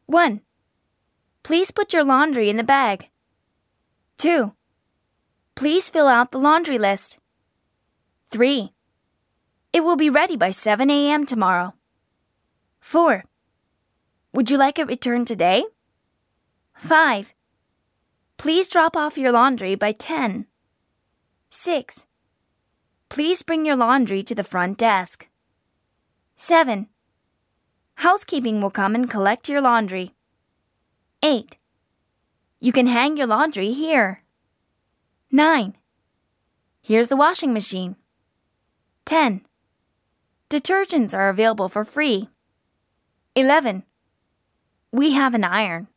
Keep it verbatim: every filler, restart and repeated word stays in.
one. Please put your laundry in the bag. two. Please fill out the laundry list. three. It will be ready by seven a m tomorrow. four. Would you like it returned today? five. Please drop off your laundry by ten. six. Please bring your laundry to the front desk. seven. Housekeeping will come and collect your laundry. eight. You can hang your laundry here. nine. Here's the washing machine. ten. Detergents are available for free. eleven. We have an iron.